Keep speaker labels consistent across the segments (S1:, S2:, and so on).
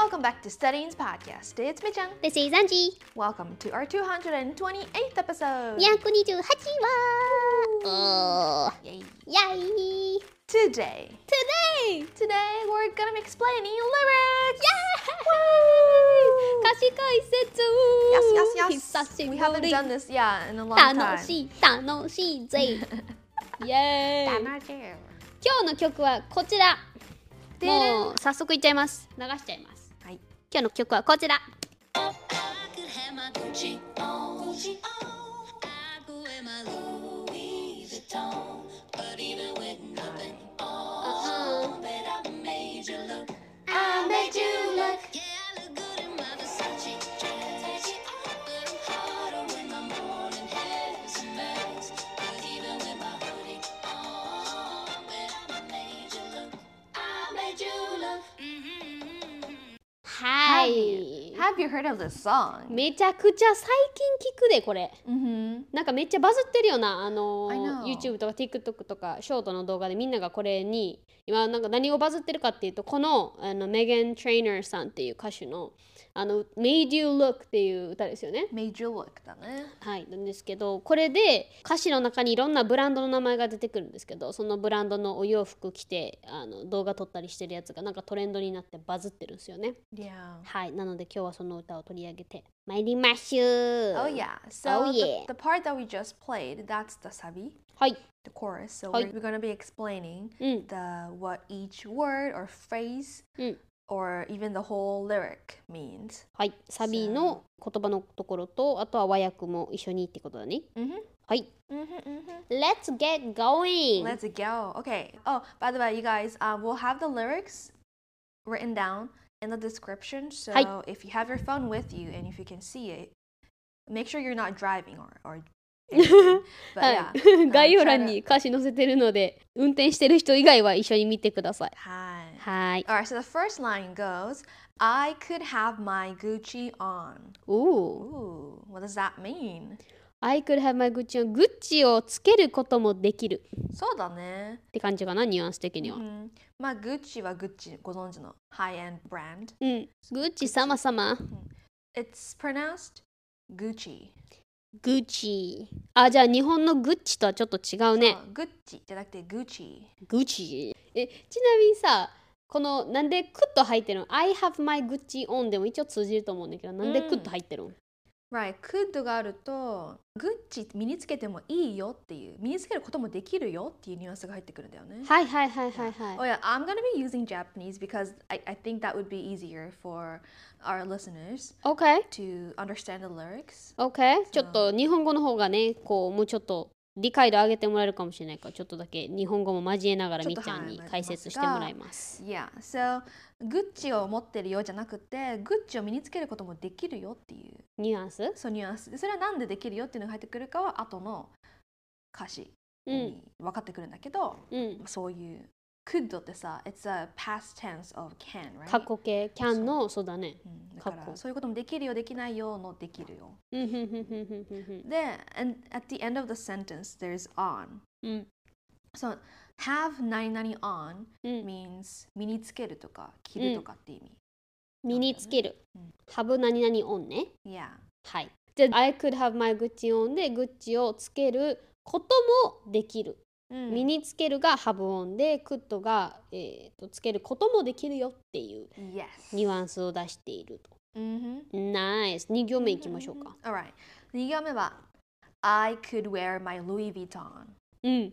S1: Welcome back to Studying's podcast. It's Michan.
S2: This is Angie.
S1: Welcome to our 228th episode.
S2: 228話。
S1: Yay.
S2: Yay!
S1: Today
S2: Today!
S1: we're gonna be explaining lyrics.
S2: Woo! 歌詞解説
S1: Yes.
S2: 久しぶ
S1: We
S2: り
S1: haven't done this, in a long time.
S2: 楽しいぜイエーイ
S1: 楽しい。
S2: 今日の曲はこちら
S1: でれん
S2: もう早速いっちゃいます流しちゃいます
S1: はい。
S2: 今日の曲はこちらはい
S1: Have you heard of this song?
S2: めちゃくちゃ最近聞くでこれ
S1: Mm-hmm.
S2: なんかめっちゃバズってるよな
S1: I know.
S2: YouTube とか TikTok とかショートの動画でみんながこれに今なんか何をバズってるかっていうとこのメガン・トレイナーさんっていう歌手のMade You Look っていう歌ですよね
S1: Made you look だね。
S2: はいなんですけどこれで歌詞の中にいろんなブランドの名前が出てくるんですけどそのブランドのお洋服着て動画撮ったりしてるやつがなんかトレンドになってバズってるんですよね
S1: Yeah.
S2: はいなので今日はその歌を取り上げて参りましょう
S1: Oh yeah. So
S2: Oh, yeah.
S1: the part that we just played, that's the sabi,
S2: はい
S1: the chorus. So
S2: Hi.
S1: we're gonna be explaining
S2: うん
S1: what each word or phrase
S2: うん
S1: or even the whole lyric means.
S2: はい、サビの言葉のところとあとは和訳も一緒にってことだね。
S1: Mm-hmm.
S2: はい。
S1: Mm-hmm.
S2: Let's get going!
S1: Let's go. Okay. Oh, by the way, you guys, we'll have the lyrics written down in the description. So
S2: Hi.
S1: if you have your phone with you and if you can see it, make sure you're not driving or anything. But
S2: は
S1: yeah.
S2: い、概要欄
S1: try to-
S2: に歌詞載せてるので運転してる人以外は一緒に見てください。
S1: Hi.
S2: はい。
S1: All right, so the first line goes, I could have my Gucci on.
S2: お
S1: Ooh, what does that mean?
S2: I could have my Gucci on. グッチをつけることもできる
S1: そうだね。
S2: って感じかな、ニュアンス的には。
S1: まあ、グッチはグッチ、ご存知のハイエンドブランド。
S2: うん。グッチ様様。
S1: It's pronounced Gucci.
S2: グッチ。あ、じゃあ日本のグッチとはちょっと違うね。
S1: そうグッチじゃなくてグッチ。
S2: グッチ。ちなみにさ、このなんでクッと入ってるの ?I have my Gucci on でも一応通じると思うんだけど、なんでクッと入ってるの、
S1: Right, could があると、グッチ身につけてもいいよっていう、身につけることもできるよっていうニュアンスが入ってくるんだよね。
S2: はいはいはいはいはい。
S1: Oh yeah, I'm gonna be using Japanese because I think that would be easier for our listeners
S2: OK?
S1: to understand the lyrics.
S2: OK? ちょっと日本語の方がね、こうもうちょっと理解度上げてもらえるかもしれないから、ちょっとだけ日本語も交えながら
S1: ちょっと
S2: みっちゃんに
S1: はい
S2: 解説してもらいます。
S1: Yeah, so グッチを持ってるよじゃなくて、グッチを身につけることもできるよっていう、
S2: ニュアンス
S1: そうニュアンスで、それはなんでできるよっていうのが入ってくるかは後の歌詞に分かってくるんだけど、
S2: うん。
S1: そういう could ってさ、it's a past tense of can, right?
S2: 過去形、can の、そうだね。
S1: だか
S2: 過去
S1: らそういうこともできるよできないよのできるよ。
S2: うんふんふんふんふんふんふん。
S1: で、and at the end of the sentence there's on.
S2: うん。
S1: So have 何々 on
S2: うん。
S1: means 身につけるとか着るとかって意味。
S2: 身につける
S1: うん。
S2: have 何々 on ね。
S1: Yeah.
S2: はい。じゃあ、I could have my Gucci on で、グッチをつけることもできる。身につけるが have on で、could が、つけることもできるよっていう
S1: Yes.
S2: ニュアンスを出していると。
S1: Mm-hmm.
S2: ナイス。2行目いきましょうか。
S1: Alright. 2行目は I could wear my Louis Vuitton.
S2: うん。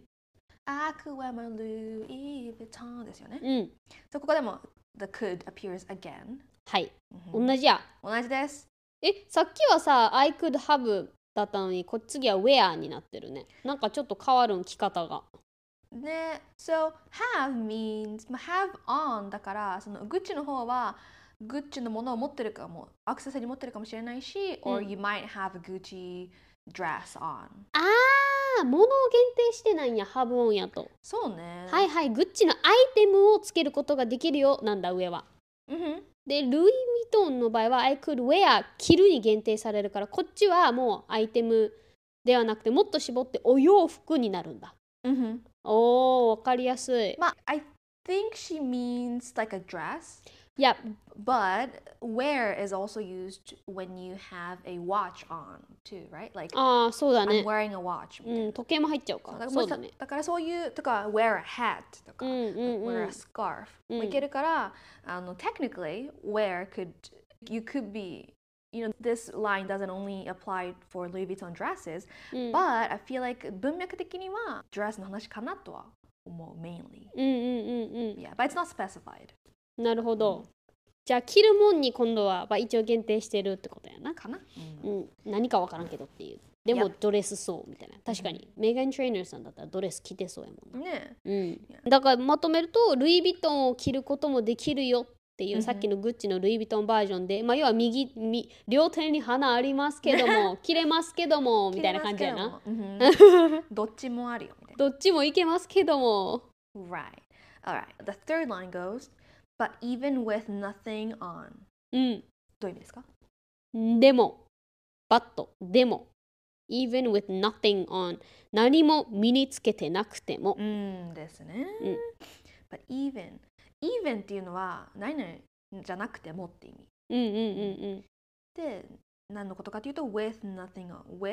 S1: I could wear my Louis Vuitton ですよね。
S2: うん。
S1: ここでも the could appears again.
S2: はい。同じや。
S1: 同じです。
S2: さっきはさ、I could have だったのに、次は wear になってるね。なんかちょっと変わるん、着方が。
S1: ね、so have means have on だからそのグッチの方はグッチのものを持ってるかもアクセサリー持ってるかもしれないし、or you might have a Gucci dress on
S2: 物を限定してないんや、have on やと。
S1: そうね
S2: はいはい、グッチのアイテムをつけることができるよ、なんだ、上は。で、ルイ・ヴィトンの場合は I could wear 着るに限定されるから、こっちはもうアイテムではなくてもっと絞ってお洋服になるんだ。おー、わかりやすい。
S1: まあ、I think she means like a dress.
S2: Yep.
S1: But wear is also used when you have a watch on too, right? Like
S2: ああ、そうだ
S1: I'm
S2: ね。
S1: wearing a watch みたいな。
S2: 時計も入っちゃうか。
S1: だから
S2: そうだね。
S1: だからそういうとか wear a hat とか、wear a scarf もいけるから、technically wear you could be this line doesn't only apply for Louis Vuitton dresses, but I feel like 文脈的には dress の話かなとは思う mainly. Yeah, but it's not specified.
S2: なるほど。じゃあ着るもんに今度は一応限定してるってことやな。
S1: かな、
S2: 何かわからんけどっていう。でもドレスそうみたいな。確かに、メガン・トレーナーさんだったらドレス着てそうやもんな。
S1: ね。
S2: だからまとめると、ルイ・ヴィトンを着ることもできるよっていう、さっきのグッチのルイ・ヴィトンバージョンで、要は両手に花ありますけども、着れますけどもみたいな感じやな。
S1: どっちもあるよみたいな。
S2: どっちもいけますけども。
S1: Right. Alright. The third line goes, but even with nothing on. どういう意味ですか？
S2: でも、でも、even with nothing on 何も身につけてなくても。
S1: ですね。But even っていうのは何々じゃなくてもって意味。で、何のことかというと with nothing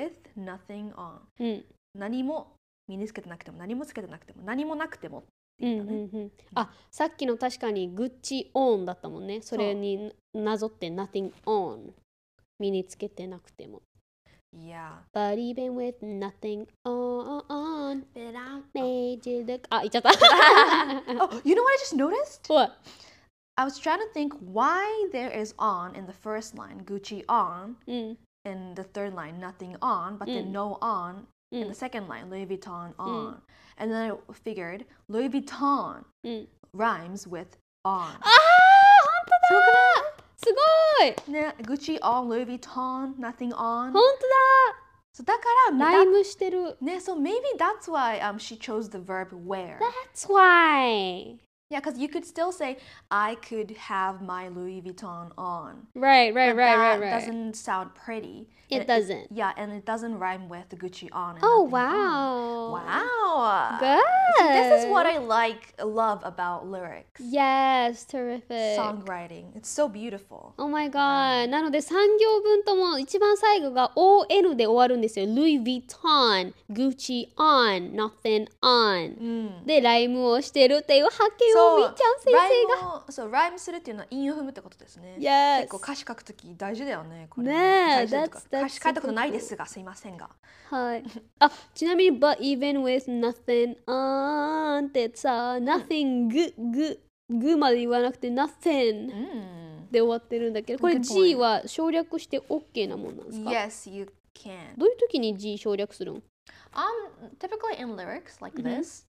S1: on。何も身につけてなくても何もつけてなくても何もなくてもって言ったね。
S2: あ、さっきの確かにグッチオンだったもんね。それになぞって nothing on 身につけてなくても。
S1: Yeah.
S2: But even with nothing on, made you look. あ、言っちゃった。
S1: Oh, you know what I just noticed?
S2: What?
S1: I was trying to think why there is on in the first line, Gucci on, in the third line, nothing on, but then no on in the second line, Louis Vuitton on. And then I figured Louis Vuitton rhymes with on.
S2: あー、本当だ。すごい
S1: ね、Gucci on, Louis Vuitton, nothing on.
S2: 本当だ。
S1: So だから
S2: ライムしてる。
S1: ね、so maybe that's why she chose the verb wear.
S2: That's why.
S1: Yeah, because you could still say, I could have my Louis Vuitton on.
S2: Right.
S1: But that doesn't sound pretty.
S2: It doesn't.
S1: Yeah, and it doesn't rhyme with the Gucci on. And
S2: Oh,
S1: nothing
S2: wow.
S1: on. Wow.
S2: Good.
S1: See, this is what I love about lyrics.
S2: Yes, terrific.
S1: Songwriting. It's so beautiful.
S2: Oh my god. なので3行分とも一番最後が ON で終わるんですよ。Louis Vuitton, Gucci on, nothing on、でライムをしてるっていう発見をみーちゃん先生が。
S1: そう、ライムするっていうのは韻を踏むってことですね。
S2: Yes.
S1: 結構歌詞書くとき大事だよね。これ
S2: ねえ、
S1: 歌詞書いたことないですが、すいませんが。
S2: はい。あ、ちなみに But even with nothing on ってさ、nothing グまで言わなくて nothing、で終わってるんだけど、これ G は省略して OK なもんなんですか？
S1: Yes, you can.
S2: どういう時に G 省略するの？
S1: Typically in lyrics like this,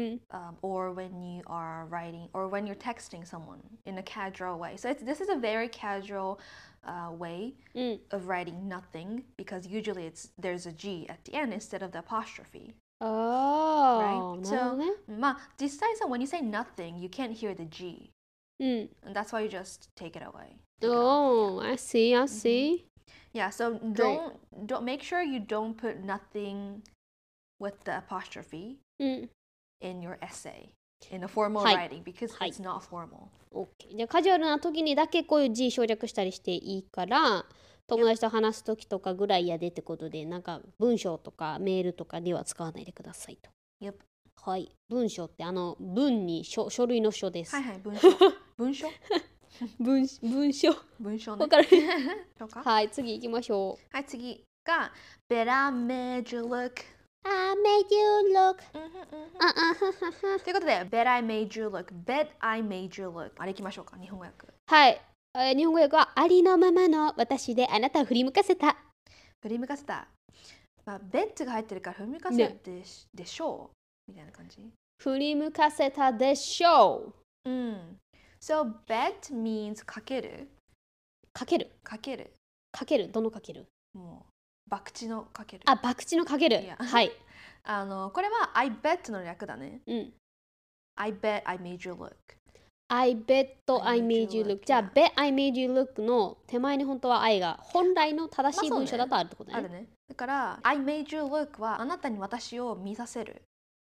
S1: or when you are writing, or when you're texting someone in a casual way. So this is a very casual way of writing nothing, because usually there's a G at the end instead of the apostrophe.
S2: Oh,
S1: right?
S2: なるほどね。
S1: 実際さ、when you say nothing, you can't hear the G. And that's why you just take it away.
S2: Oh, I see.
S1: Yeah, so don't make sure you don't put nothing with the apostrophe in your essay in a formal writing, because it's not formal.
S2: Okay. じゃあカジュアルな時にだけこういう G 省略したりしていいから、友達と話す時とかぐらいやでってことで、なんか文章とかメールとかでは使わないでくださいと。
S1: Yep.
S2: はい。文章って文に書類の書です。
S1: はいはい、文章。文章
S2: 文章。
S1: 文章ね。
S2: わかる
S1: そうか。
S2: はい、次行きましょう。
S1: はい、次が But I made you look.
S2: I made you look.
S1: ということで Bet I made you look. Bet I made you look. あれ行きましょうか、日本語訳。
S2: はい。日本語訳はありのままの私であなたを振り向かせた。
S1: 振り向かせた。Bet が入ってるから振り向かせたでしょうみたいな感じ。
S2: 振り向かせたでしょう。
S1: So bet means かける。
S2: かける。
S1: かける。
S2: かける。どのかける？
S1: もう博打のかける。
S2: あ、博打のかける。はい。
S1: これは I bet の略だね。I bet I made you look。I
S2: bet I made you look。じゃあ bet I made you look の手前に本当は I が本来の正しい文章だとあるってことね。
S1: あるね。だから I made you look はあなたに私を見させる。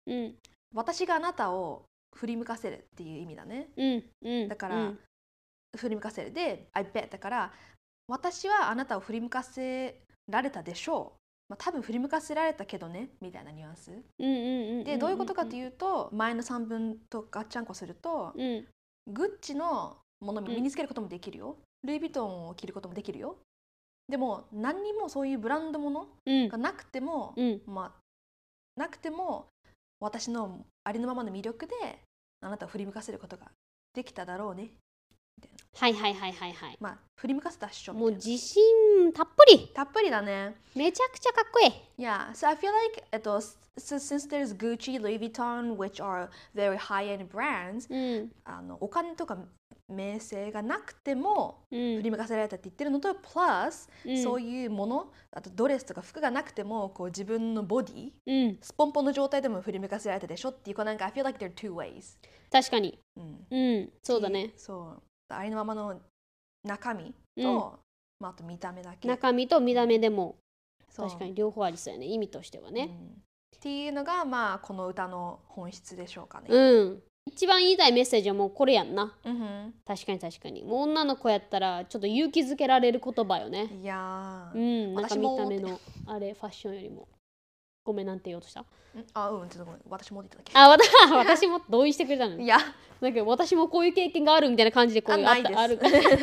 S1: 私があなたを振り向かせるっていう意味だね。だから振り向かせる。で、I bet だから、私はあなたを振り向かせられたでしょう。多分振り向かせられたけどね、みたいなニュアンス。で、どういうことかというと、前の3分とガッチャンコすると、グッチのものを身につけることもできるよ。ルイ・ヴィトンを着ることもできるよ。でも、何にもそういうブランドものがなくても、なくても、私のありのままの魅力であなたを振り向かせることができただろうね。
S2: はいはいはいはいはい。
S1: 振り向かせたっしょ。
S2: もう自信たっぷり。
S1: たっぷりだね。
S2: めちゃくちゃかっこいい。
S1: Yeah, so I feel like since there's Gucci, Louis Vuitton, which are very high-end brands, お金とか名声がなくても振り向かせられたって言ってるのと、plus、そういうもの、あとドレスとか服がなくてもこう自分のボディ、スポンポンの状態でも振り向かせられたでしょっていう、なんか I feel like there are two ways。
S2: 確かに。そうだね。
S1: そう。ありのままの中身と、あと見た目だけ。
S2: 中身と見た目でも確かに両方ありそうやね、意味としてはね。
S1: っていうのがこの歌の本質でしょうかね。
S2: 一番言いたいメッセージはもうこれやんな。確かに確かに。もう女の子やったらちょっと勇気づけられる言葉よね。
S1: いや
S2: なんか見た目のあれファッションよりも。ごめん、なんて言おうとした？
S1: ちょっとごめん、私もって言っただ
S2: け。私も同意してくれたの。いや、なんか私もこういう経験があるみたいな感じでこういう
S1: ある。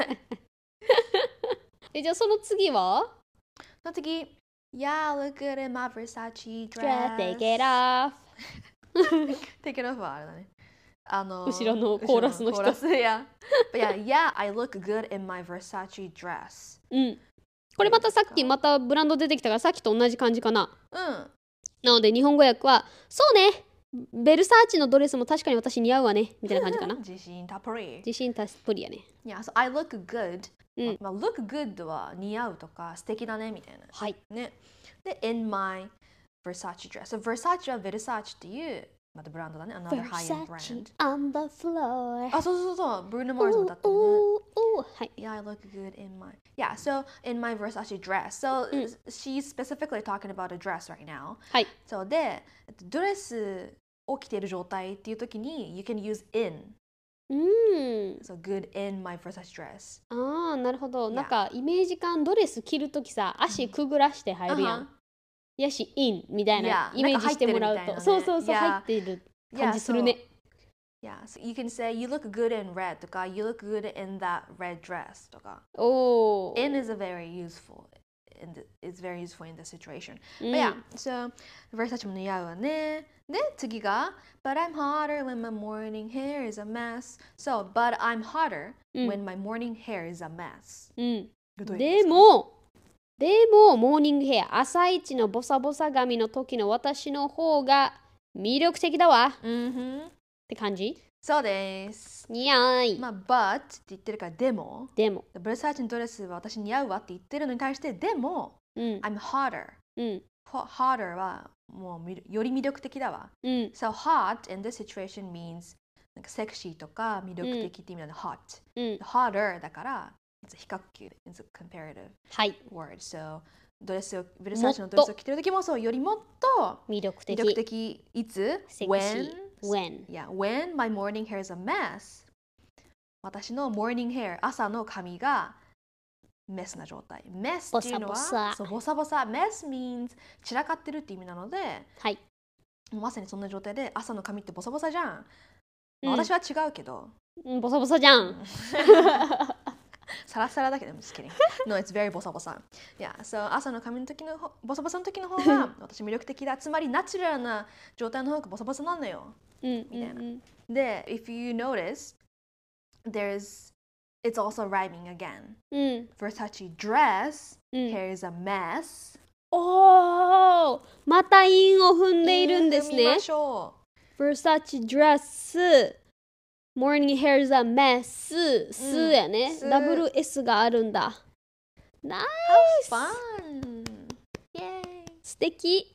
S2: じゃあその次は？
S1: その次、Yeah, look good in my Versace dress.
S2: Take it off.
S1: Take it off はあれだね。
S2: 後ろのコーラスの人。
S1: Yeah, I look good in my Versace dress.
S2: これまたさっきまたブランド出てきたからさっきと同じ感じかな。なので日本語訳はそうね、ベルサーチのドレスも確かに私似合うわねみたいな感じかな。
S1: 自信たっぷり。
S2: 自信たっぷりやね。
S1: Yeah, so I look good. look good は似合うとか素敵だねみたいな。
S2: はい。
S1: ね。で、in my Versace dress. So Versace は Versace っていうまたブランドだね。Another high-end brand.
S2: on the floor.
S1: そう。Bruno Mars も歌ってるね。
S2: はい。
S1: Yeah, I look good in my... Yeah, so in my Versace dress. So she's specifically talking about a dress right now.
S2: はい。
S1: そうで、ドレスを着ている状態っていう時に you can use in. So good in my Versace dress.
S2: なるほど。なんかイメージ感ドレス着るときさ、足くぐらして入るやん。やし、in みたいなイメージしてもらうと。そう、入ってる感じするね。
S1: Yeah, so you can say you look good in red とか you look good in that red dress とか。In is very useful. It's very useful in this situation. But yeah, so Versace も似合うわね。で、次が But I'm hotter when my morning hair is a mess. So, but I'm hotter when my morning hair is a mess.
S2: でもモーニングヘア、朝一のボサボサ髪の時の私の方が魅力的だわ。って感じ？
S1: そうです。
S2: 似合い。
S1: but って言ってるからでも。ブルサーチのドレスは私似合うわって言ってるのに対してでも、I'm hotter. hotter はもうより魅力的だわ。So hot in this situation means なんかセクシーとか魅力的って意味なので hot。hotter だからIt's a 比較級。It's a comparative word. So, ブルサーチのドレスを着てるときもそうよりもっと
S2: 魅力的。
S1: いつ
S2: when
S1: my morning hair is a mess. 私の morning hair 朝の髪がメスな状態。メスっていうのはボサボサ。メス means 散らかってるって意味なので、まさにそんな状態で朝の髪ってボサボサじゃん。私は違うけど。
S2: ボサボサじゃん。
S1: サラサラだけど、I'm just kidding. No, it's very ボサボサ。Yeah, so 朝の髪の時のボサボサの時の方が私魅力的だ。つまりナチュラルな状態の方がボサボサなんだよ。みたいな。で、if you notice, it's also rhyming again. Versace dress, hair is a mess.
S2: また韻を踏んでいるんですね。Versace dress。Morning hair is a mess. やね。ダブル S があるんだ。ナイス。
S1: Fun. Yay.
S2: 素敵。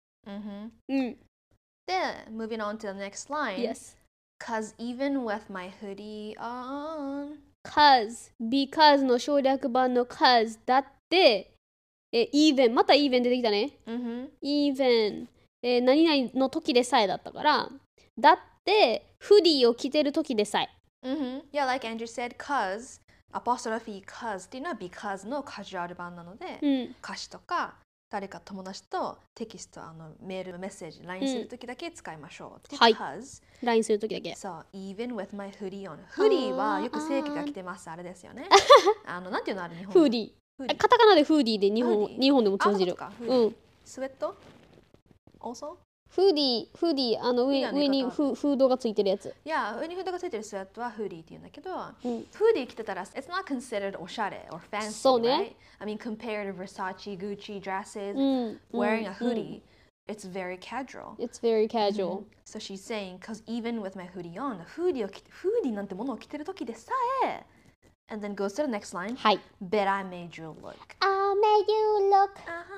S1: で、moving on to the next line.
S2: Yes.
S1: Cause even with my hoodie on.
S2: because の省略版の cause だって、even また even 出てきたね。even、何々の時でさえだったから。だってフディを着てる時でさえ
S1: Yeah, like Andrew said, cause, apostrophe cause っていうのは because のカジュアル版なので、歌詞とか誰か友達とテキスト、メール、メッセージ、LINE するときだけ使いましょう。
S2: はい。
S1: cause
S2: LINE するときだけ。
S1: そう、even with my hoodie on。フーディーはよく正規が着てます。あれですよね。なんていうのある日本
S2: フーディー。カタカナでフーディーで日本でも通じる。
S1: スウェット also？
S2: フーディー、上にフードがついてるやつ。
S1: いや、上にフードがついてるスウェットはフーディーって言うんだけど、フーディー着てたら、it's not considered おしゃれ or fancy,
S2: そうね。
S1: right? I mean, compared to Versace, Gucci dresses, wearing a hoodie, it's very casual.
S2: It's very casual.
S1: So she's saying, because even with my hoodie on, フーディーなんてものを着てる時でさえ、and then goes to the next line,
S2: はい。
S1: Bet I made you look.
S2: I made you look.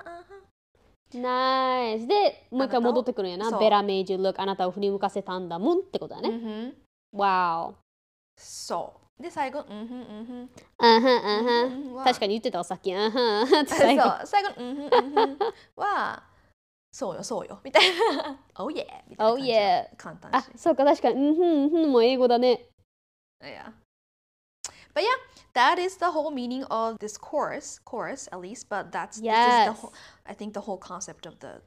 S2: ナイスでもう一回戻ってくるんやな。Better made you look あなたを振り向かせたんだもんってことだね。Wow。
S1: そうで最後
S2: 確かに言ってたわさっき。
S1: 最後はそうよみたいな。Oh yeah みたいな感じ。簡単
S2: あ、そうか確かにもう英語だね。
S1: Yeah. But yeah, that is the whole meaning of this chorus at least, but this is the whole, I think the whole concept of the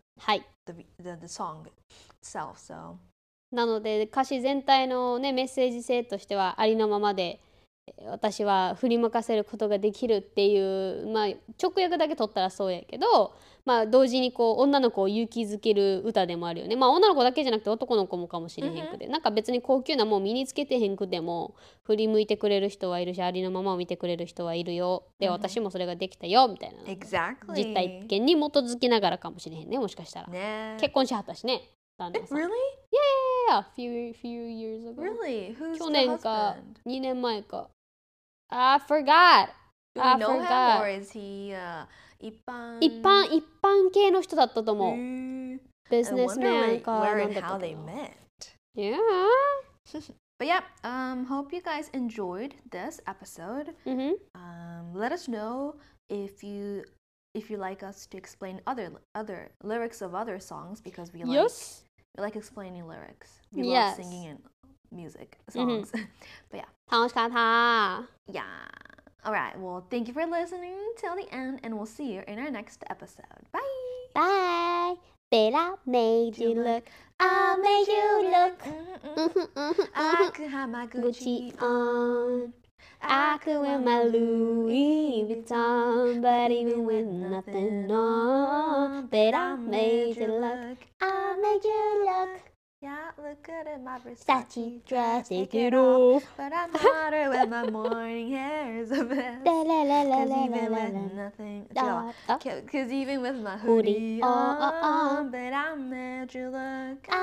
S1: song itself. So
S2: なので歌詞全体のねメッセージ性としてはありのままで私は振り向かせることができるっていうまあ直訳だけ取ったらそうやけどまあ同時にこう女の子を勇気づける歌でもあるよね。まあ女の子だけじゃなくて男の子もかもしれへんくて、なんか別に高級なもん身につけてへんくても振り向いてくれる人はいるしありのままを見てくれる人はいるよで私もそれができたよみたいな、実体験に基づきながらかもしれへんねもしかしたら、結婚しはったしね旦那さん。
S1: Really?
S2: Yeah, few years ago.
S1: Really? Who's
S2: 去
S1: the
S2: 年か
S1: husband?
S2: 2年前か。I forgot.
S1: Do we know him or is he 一般
S2: 系の人だったと思う。ビジネスマンか。
S1: Where and how they met.
S2: Yeah.
S1: But yeah, hope you guys enjoyed this episode. Let us know if you like us to explain other lyrics of other songs because we like explaining lyrics. We love singing and music songs. But yeah.
S2: 楽しかった。
S1: Yeah. Alright, well, thank you for listening till the end, and we'll see you in our next episode. Bye!
S2: Bye! Bella made you look. I made you look.
S1: I could have my Gucci on.
S2: I could wear my Louis Vuitton, but even with nothing on, Bella made you look. I made you look.
S1: Yeah, look good in my
S2: Versace dress, take it off.
S1: But I'm hotter with my morning hair is the best. Cause even with nothing, cause even with my hoodie on, but I made you look.